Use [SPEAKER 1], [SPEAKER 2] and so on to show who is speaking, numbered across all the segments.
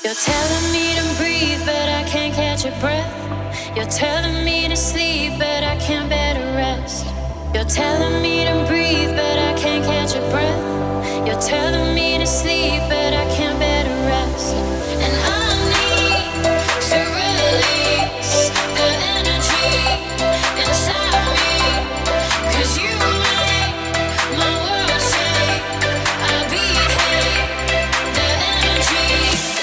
[SPEAKER 1] You're telling me to breathe, but I can't catch a breath. You're telling me to sleep, but I can't bear to rest. You're telling me to breathe, but I can't catch a breath. You're telling me to sleep, but I can't bear to rest. And I need to release the energy inside me, 'cause you make my world shake. I behave the energy.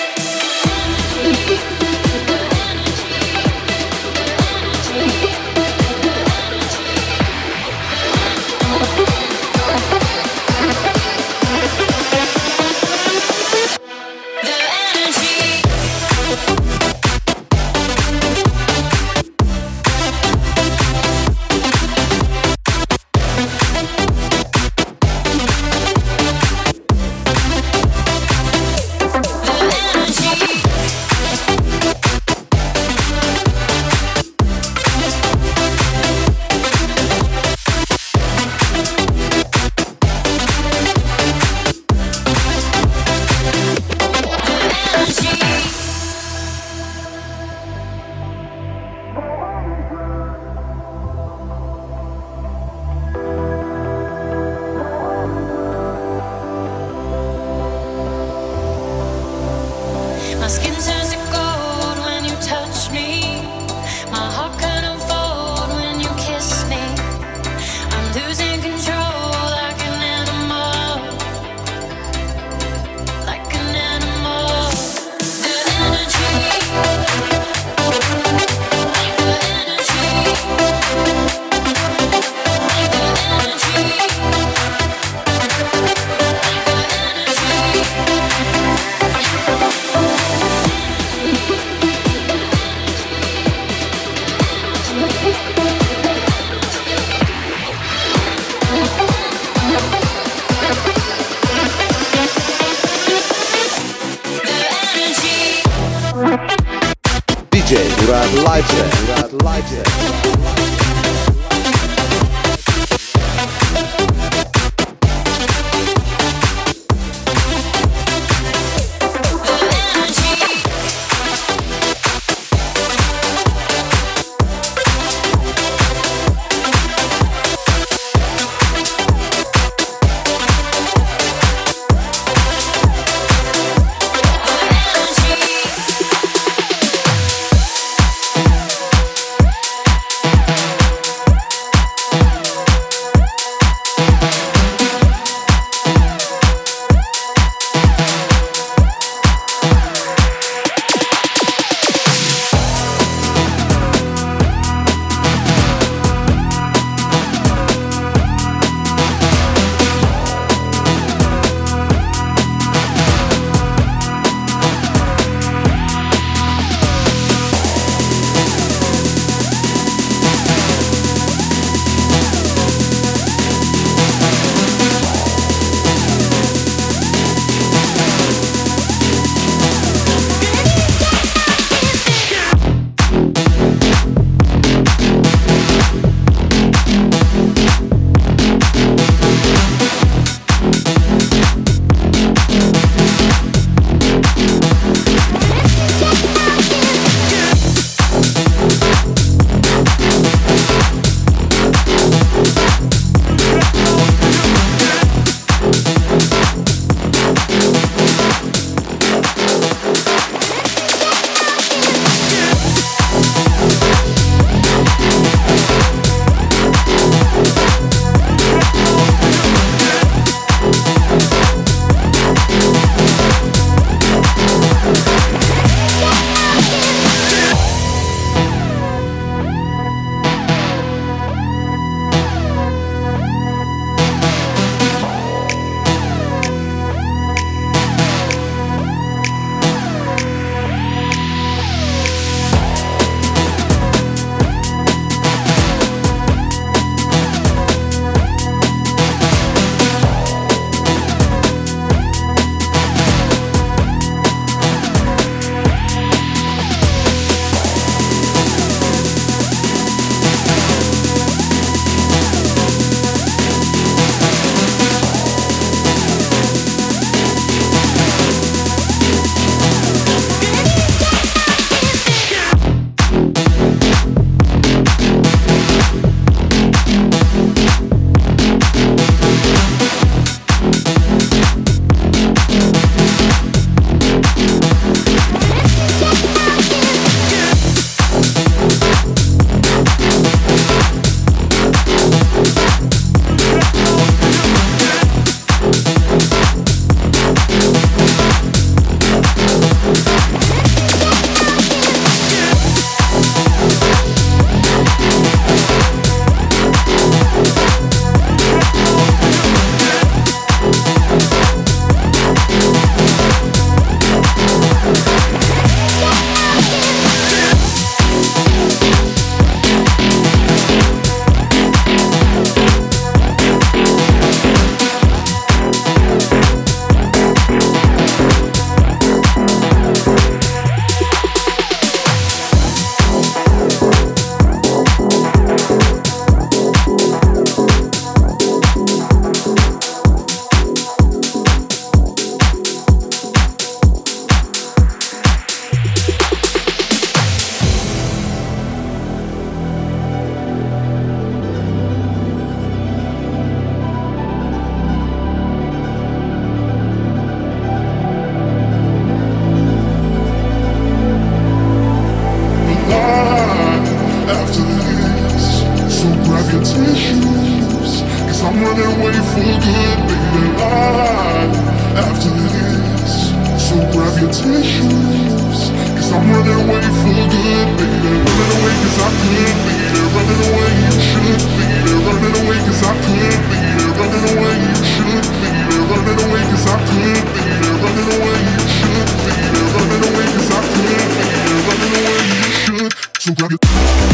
[SPEAKER 2] DJ Murat Live.
[SPEAKER 3] So grab your tissues, cause I'm running away for good, baby. Running away cause I could be there. Running away you should be there. Running away cause I could be there. Running away you should be there. Running away cause I could be there. Running away you should be there. Running away cause I could be there. Running away you should. So grab your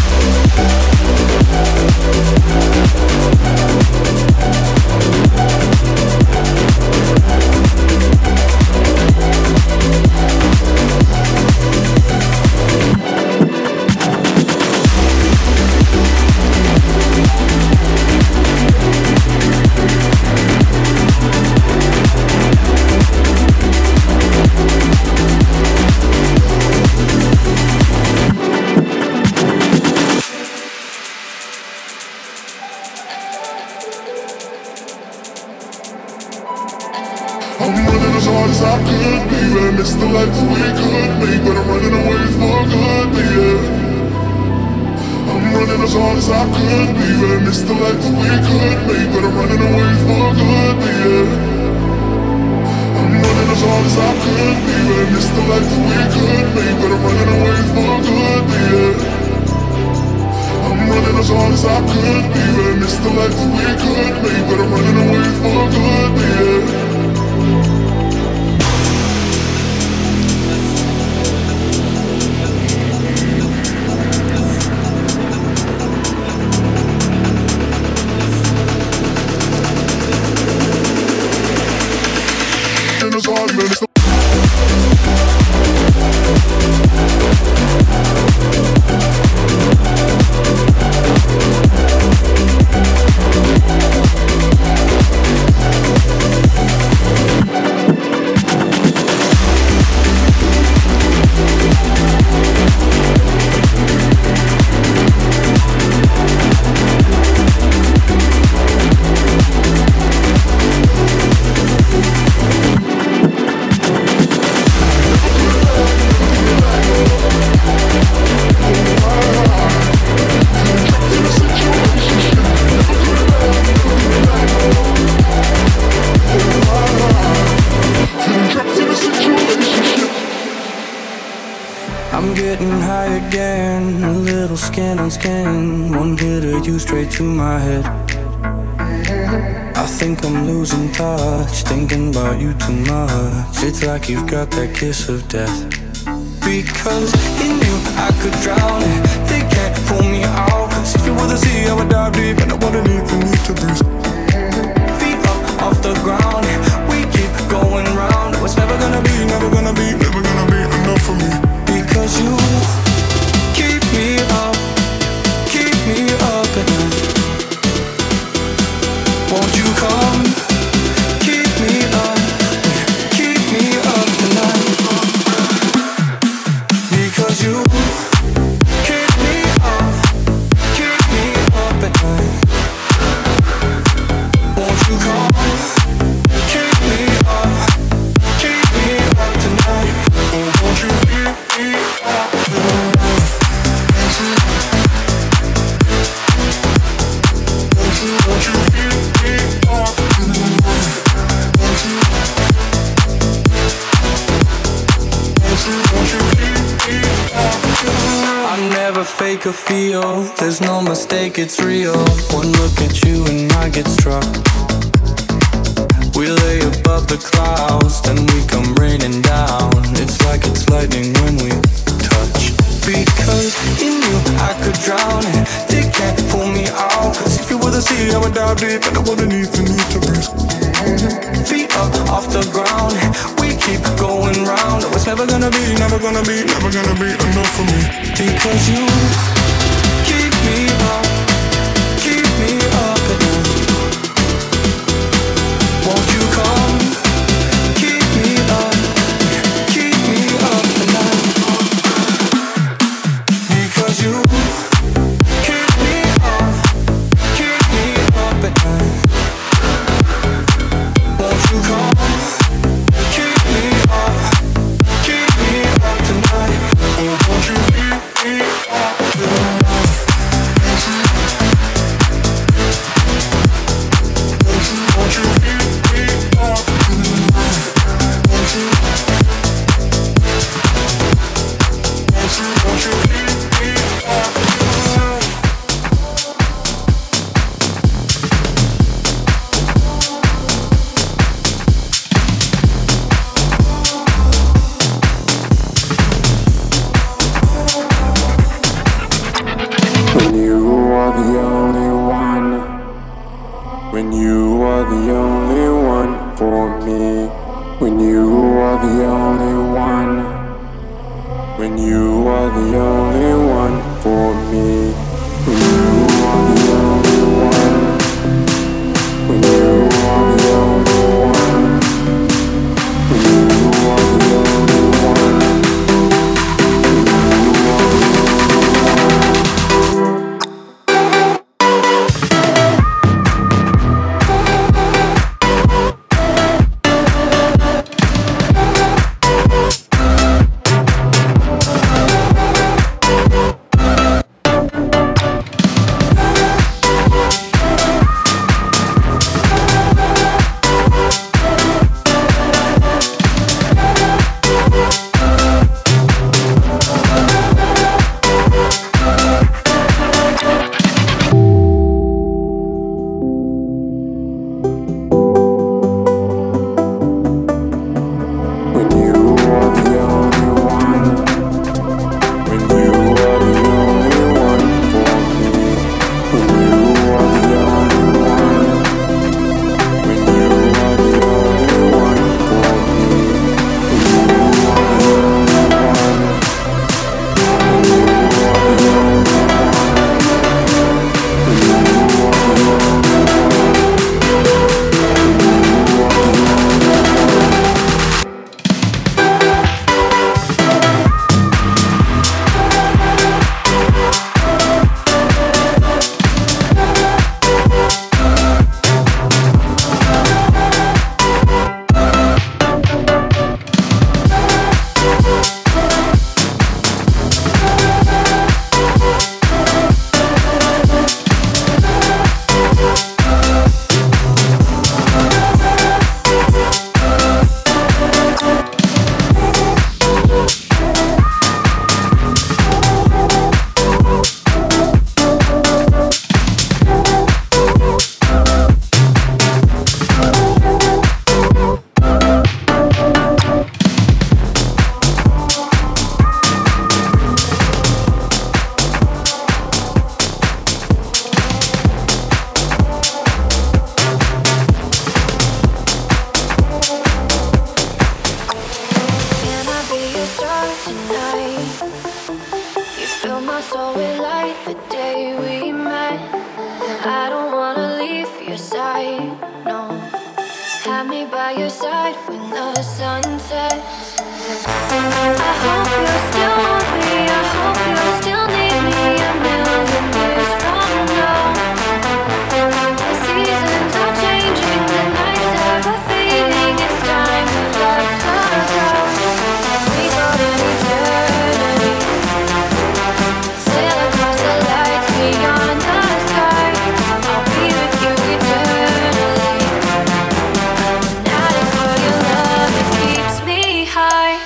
[SPEAKER 3] as I could be, I missed the life we could make, but I'm running away for good, baby. I'm running as hard as I could be, I missed the life we could make, but I'm running away for good, baby. I'm running as hard as I could be, I missed the life we could make, but I'm running away for good, baby. I'm running as hard as I could be, I missed the life we could make, but I'm running away for good, baby.
[SPEAKER 4] Skin, one hit of you straight to my head. I think I'm losing touch, thinking about you too much. It's like you've got that kiss of death. Because in you I could drown it, they can't pull me out. Cause if you were the sea I would dive deep, and I wouldn't even need to breathe. Feet up off the ground, we keep going round. What's never gonna be, never gonna be, never gonna be enough for me. Because you keep me up at night. Won't you come? Keep me up tonight. Because you keep me up at night. Won't you come? Keep me up tonight. Oh, won't you keep me up tonight? I never fake or feel, there's no mistake, it's real. One look at you and I get struck. We lay above the clouds, then we come raining down. It's like it's lightning when we touch. Because in you I could drown it, they can't pull me out. Cause if you were the sea I would dive deep, and I wouldn't even need to breathe. Feet up off the ground, we keep going round. Oh, it's never gonna be, never gonna be, never gonna be enough for me. Because you keep me up at night. Won't you come? Keep me up tonight. Because you keep me up at night. Won't you come? Keep me up tonight. Oh, won't you keep me up tonight? Won't you keep me
[SPEAKER 1] start tonight. You fill my soul with light the day we met. And I don't wanna leave your side, no. Have me by your side when the sun sets. I hope you still want me. I hope you still need me a million years from now. The seasons are changing, the nights ever fading. It's time we left the ground. We got an eternity. Sail across the lights beyond the sky. I'll be with you eternally. I'm an addict for your love, it keeps me high.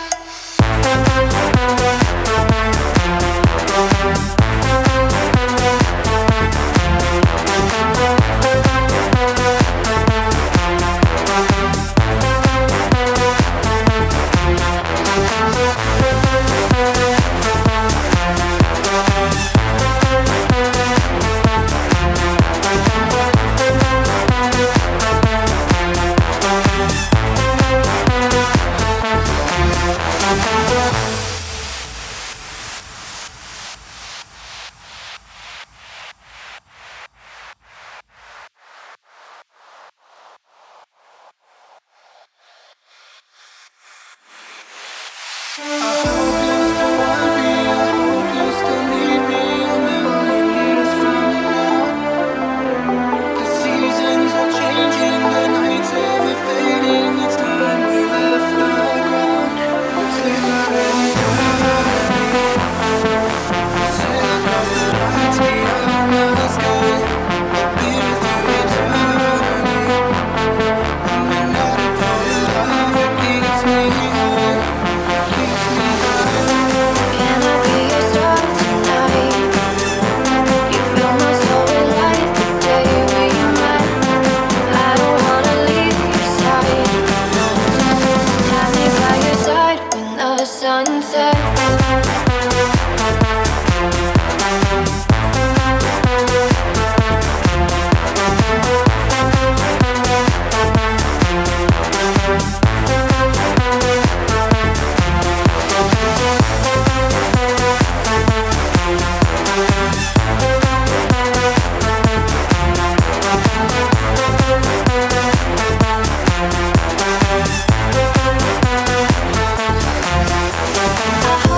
[SPEAKER 1] I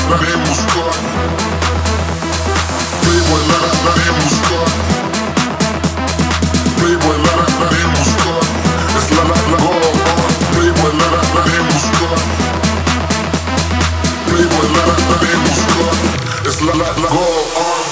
[SPEAKER 3] la demuscar. Playboy, la demuscar. Playboy, la demuscar. Es la go on. Playboy, la demuscar. Playboy, la demuscar. Es la go on.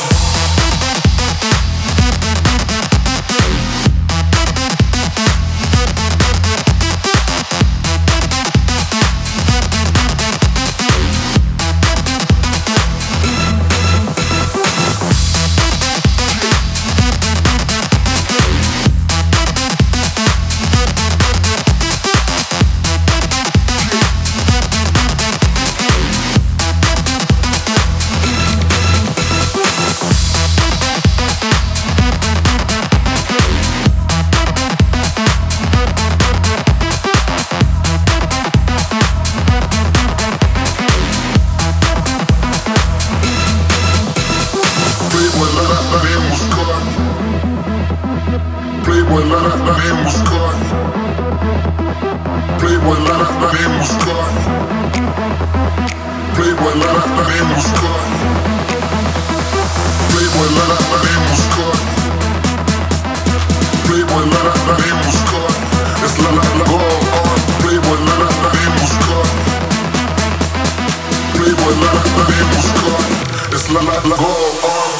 [SPEAKER 3] Playboy, la demuscar. Playboy, la demuscar. Playboy, la demuscar. Playboy, la demuscar. Playboy, la demuscar. Es la go on. Playboy, la demuscar. Playboy, la demuscar. Es la go on.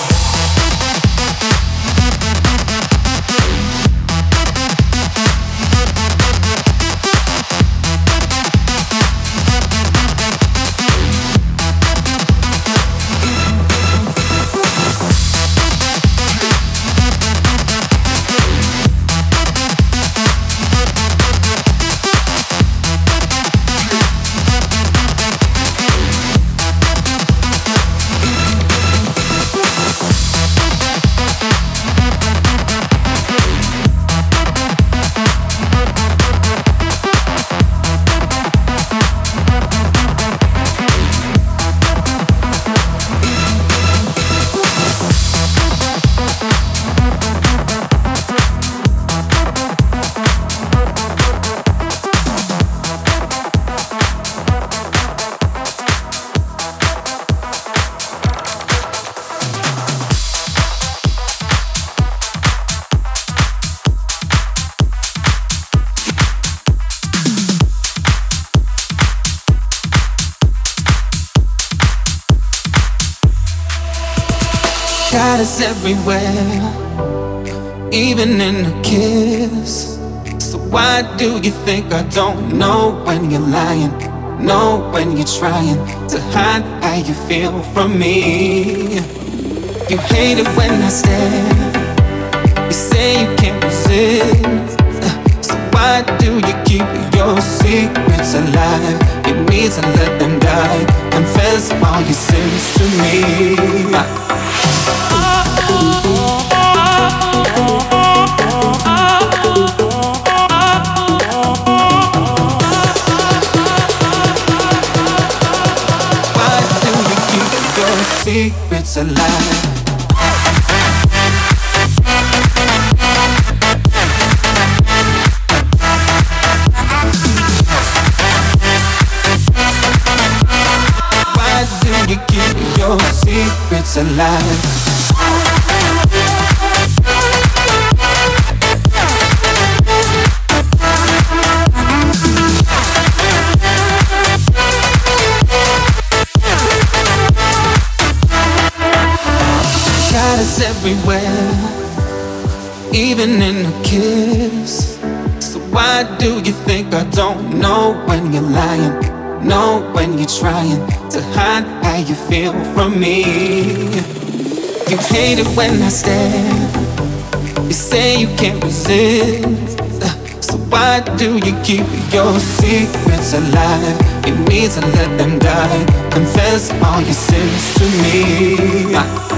[SPEAKER 4] Shadows everywhere, even in a kiss. So why do you think I don't know when you're lying? Know when you're trying to hide how you feel from me. You hate it when I stare. You say you can't resist. So why do you keep your secrets alive? You need to let them die. Confess all your sins to me. Secrets alive. Why do you keep your secrets alive? Everywhere, even in a kiss. So why do you think I don't know when you're lying? Know when you're trying to hide how you feel from me. You hate it when I stare. You say you can't resist. So why do you keep your secrets alive? You need to let them die. Confess all your sins to me.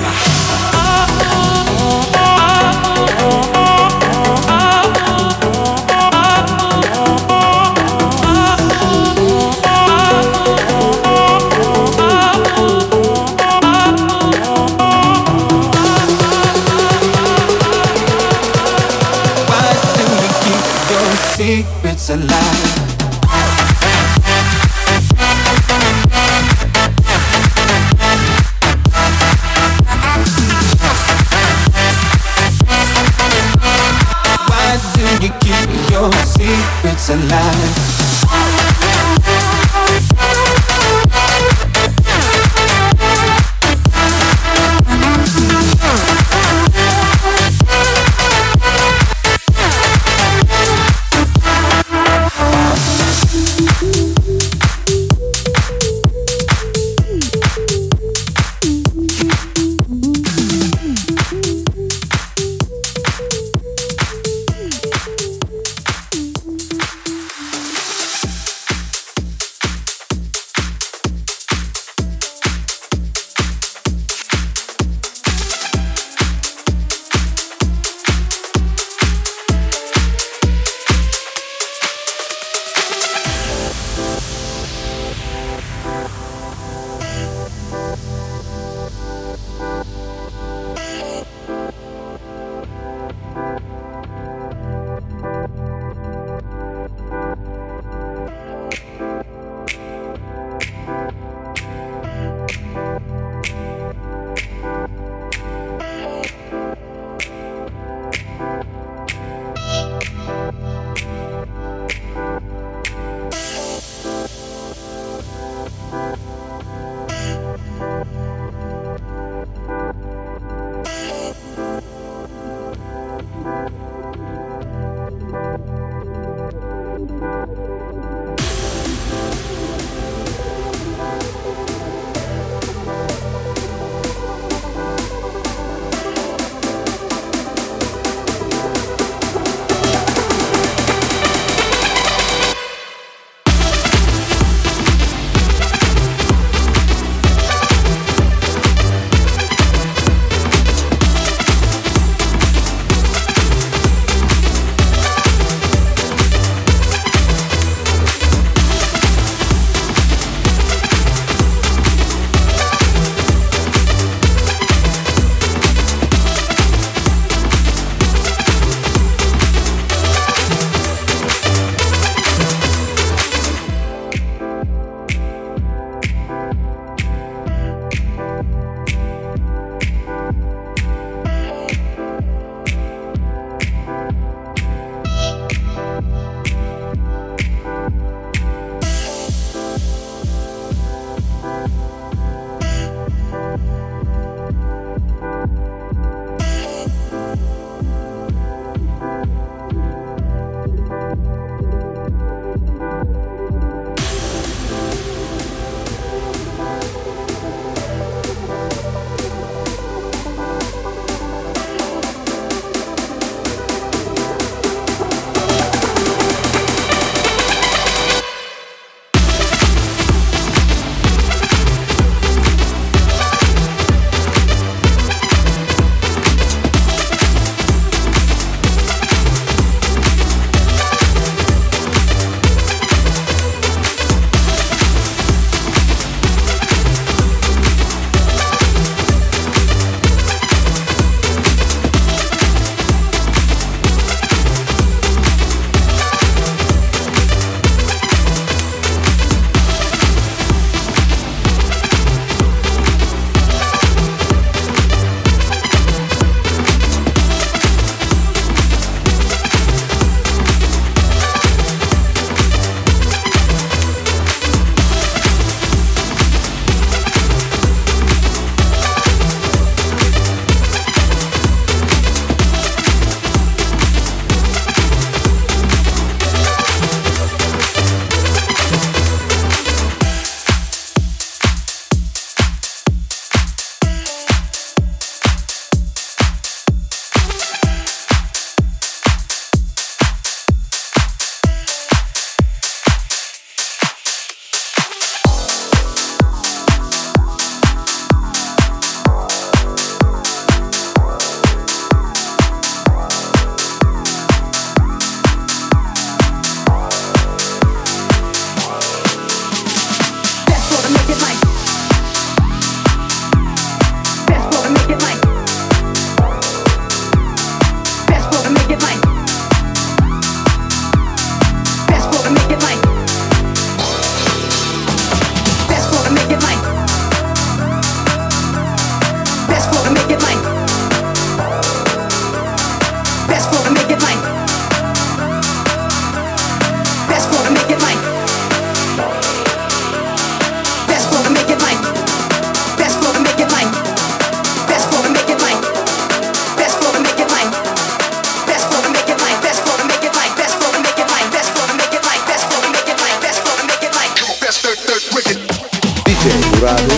[SPEAKER 4] Secrets alive. secrets alive.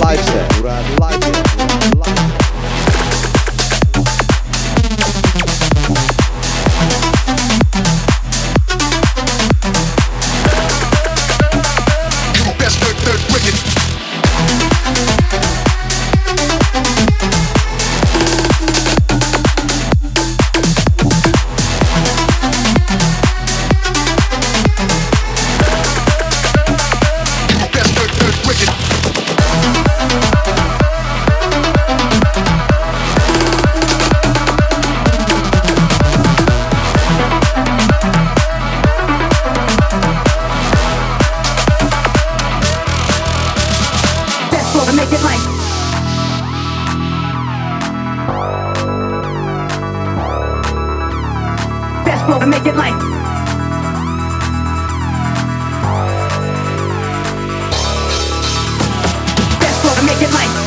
[SPEAKER 2] live set. Murad live set. Live set.
[SPEAKER 5] Make it light. Best flow to make it light.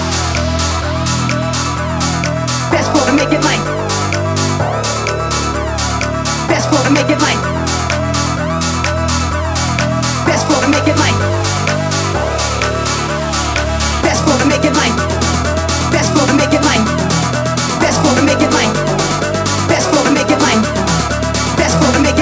[SPEAKER 5] Best flow to make it light. Best flow to make it light. Best flow to make it light. Best flow to make it light. Best flow to make it light. Best flow to make it light. Best flow to make it light. Best flow to make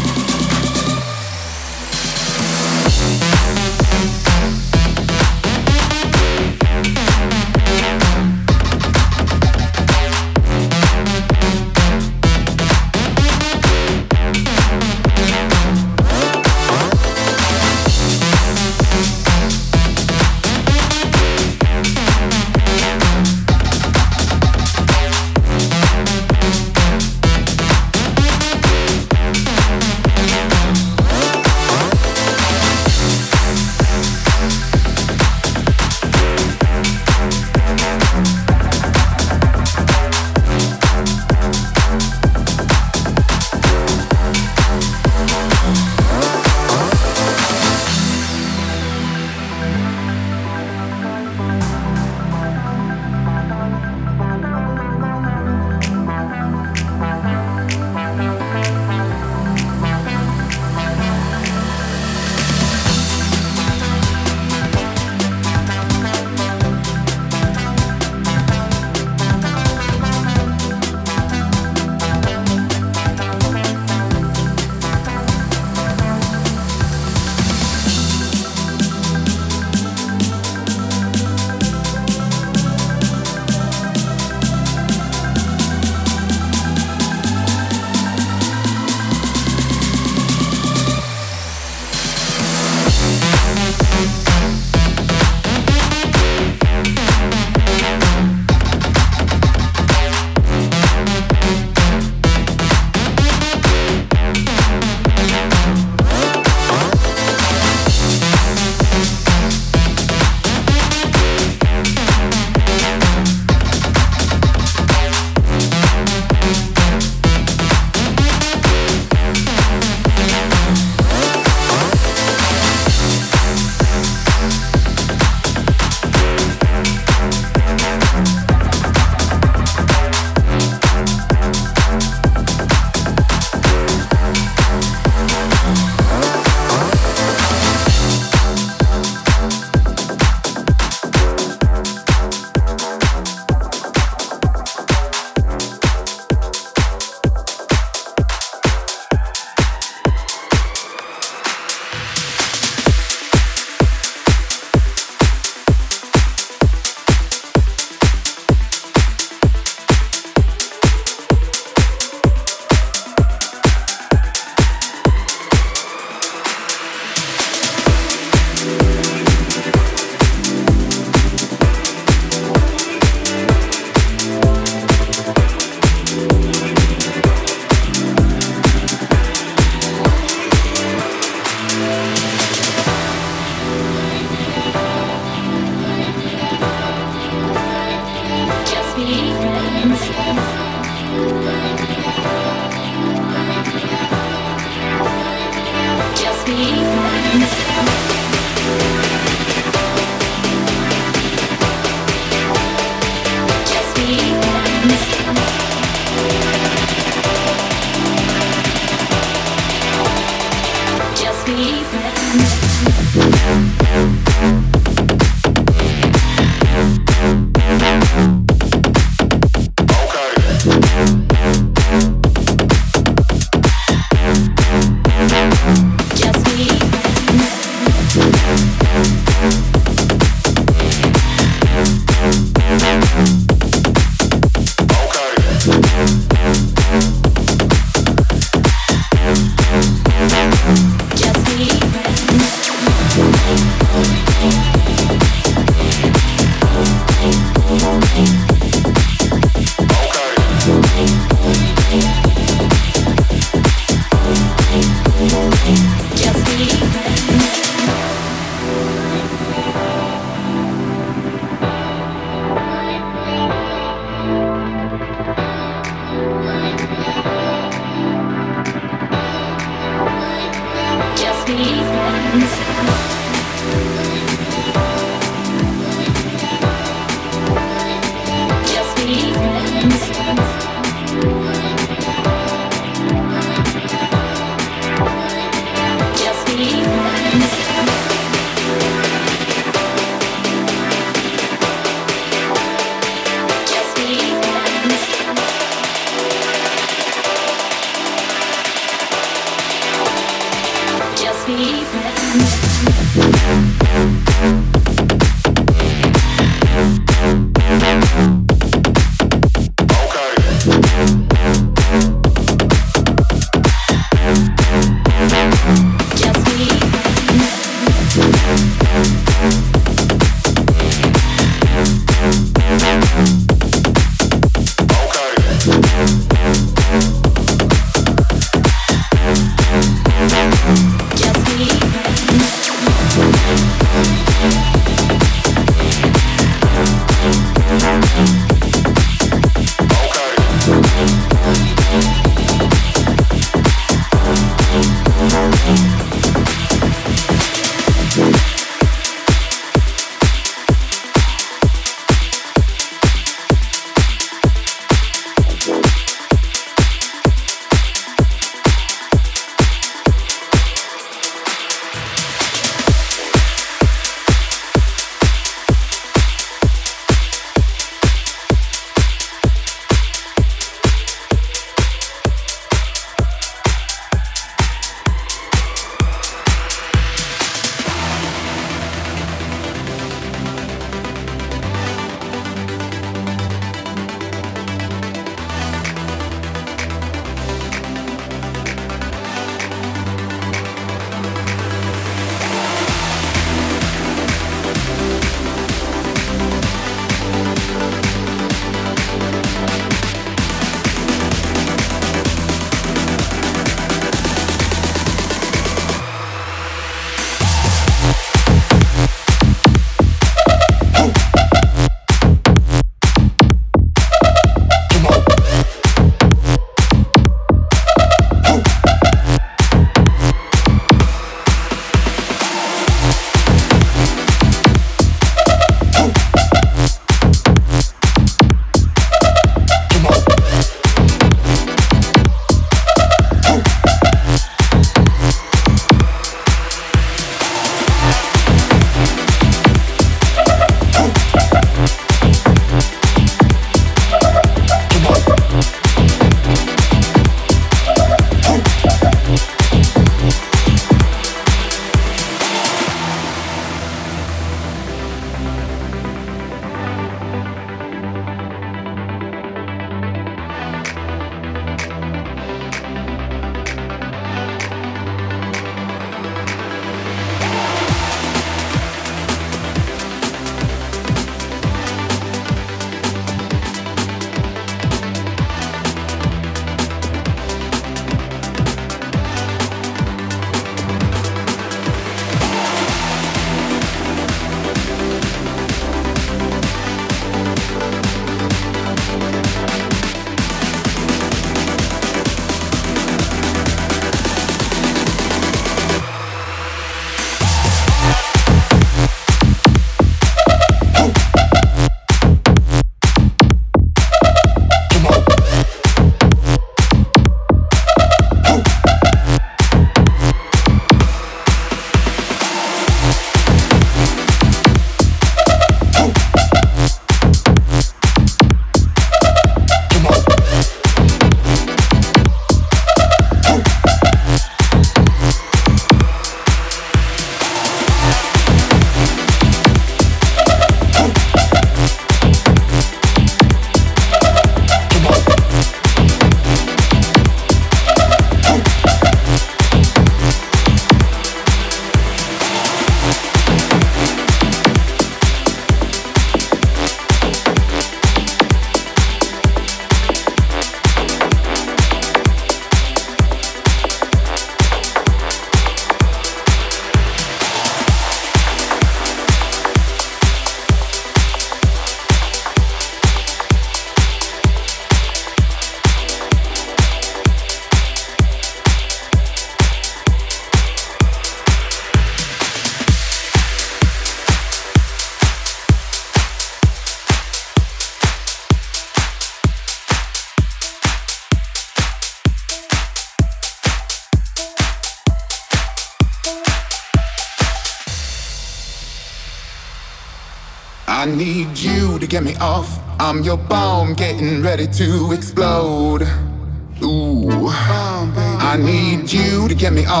[SPEAKER 6] I need you to get me off. I'm your bomb getting ready to explode. Ooh, I need you to get me off.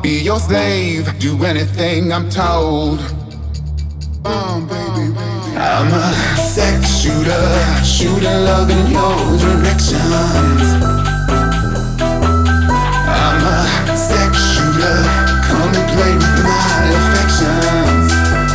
[SPEAKER 6] be your slave, do anything I'm told. Baby. I'm a sex shooter, shooting love in your directions. I'm a sex shooter, come and play with my affections.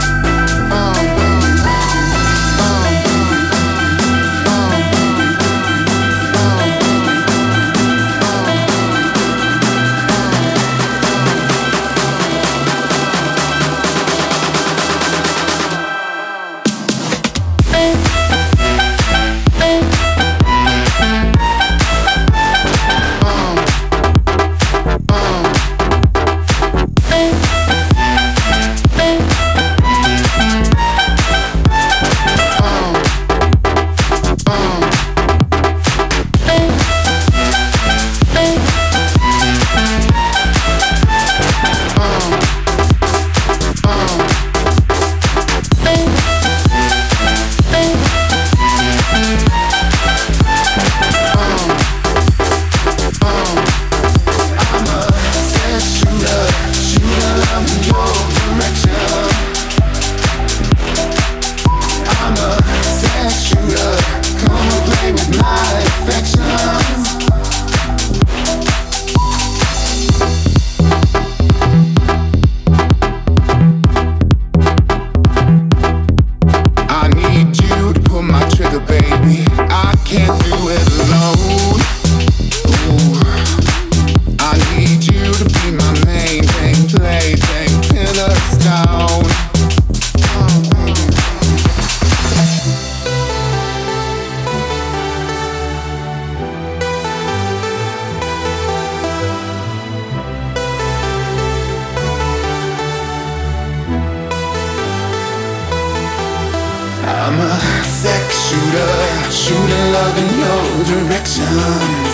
[SPEAKER 6] I'm a sex shooter, shooting love in your directions.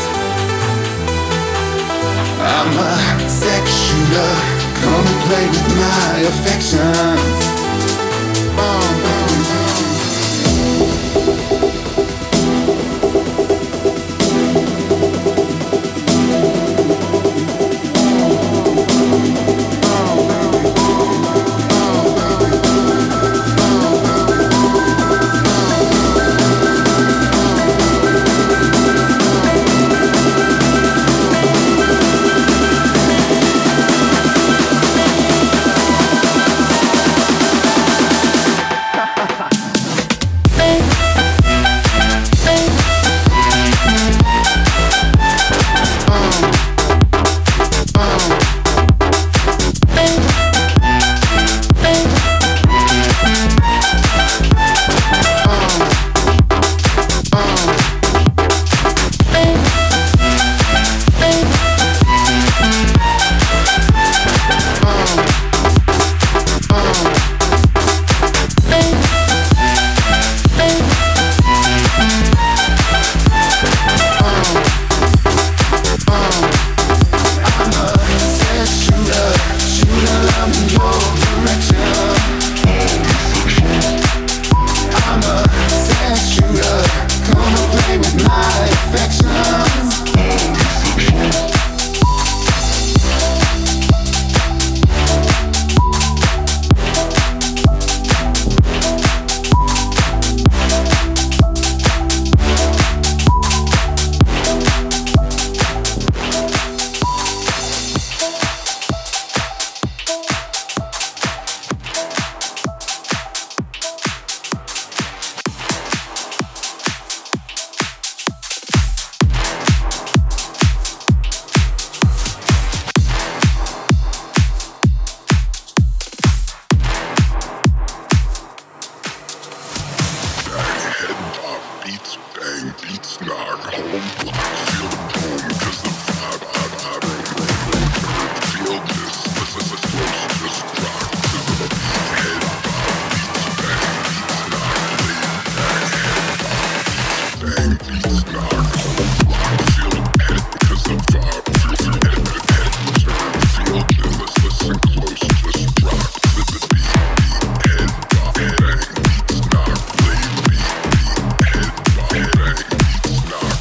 [SPEAKER 6] I'm a sex shooter, come and play with my affections.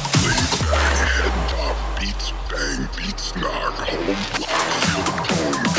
[SPEAKER 3] Beats knock, home block, feel the tone.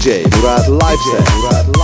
[SPEAKER 2] DJ Murat Live Set.